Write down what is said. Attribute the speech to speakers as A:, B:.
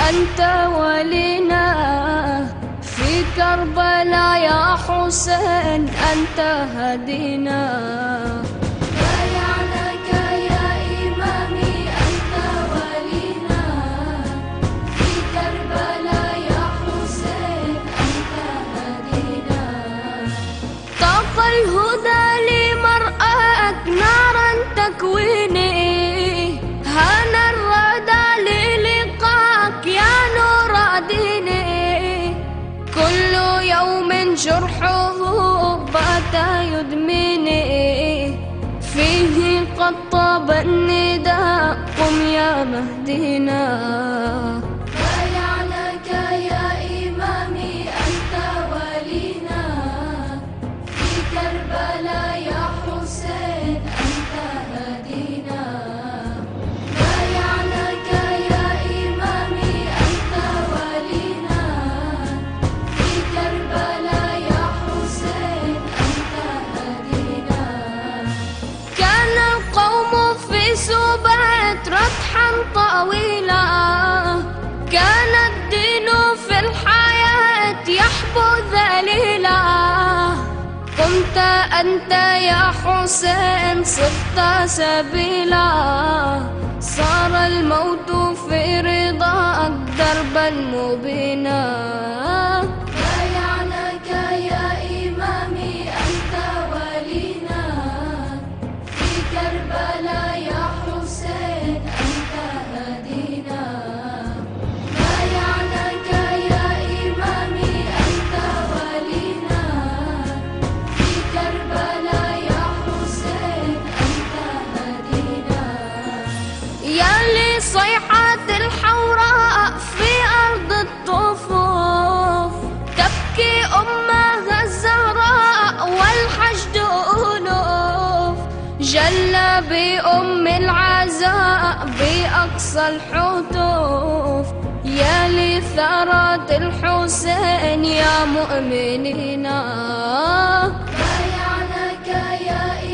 A: أنت ولينا في كربلاء يا حسين، أنت هدينا. بايعناك يا إمامي، أنت ولينا في كربلاء يا حسين، أنت هدينا. طاق الهدى لمرآك نارا تكويني، هان الردى للقاك يا نور ديني. كل يوم جرحه بات يدمني، فيه قد طاب النداء قم يا مهدينا. بايعناك يا إمامي، أنت ولينا في كربلاء يا حسين، أنت هدينا. بايعناك يا إمامي، أنت ولينا في كربلاء يا حسين، أنت هدينا. كان القوم في سبات ربحا طويلا، كان الدين في الحياة يحبو ذليلا. قمت أنت يا حسين صفت سبيلا، صار الموت في رضاك دربا مبينا. بايعناك يا إمامي، أنت ولينا في كربلاء يا حسين، أنت هدينا. بايعناك يا إمامي، أنت ولينا في كربلاء يا حسين، أنت هدينا. يا لصيحة الحوراء في أرض الطفوف، تبكي أمها الزهراء والحشد ألوف. جل بأم العزاء بأقصى الحتوف، يا لثارات الحسين يا مؤمنين. بايعناك يا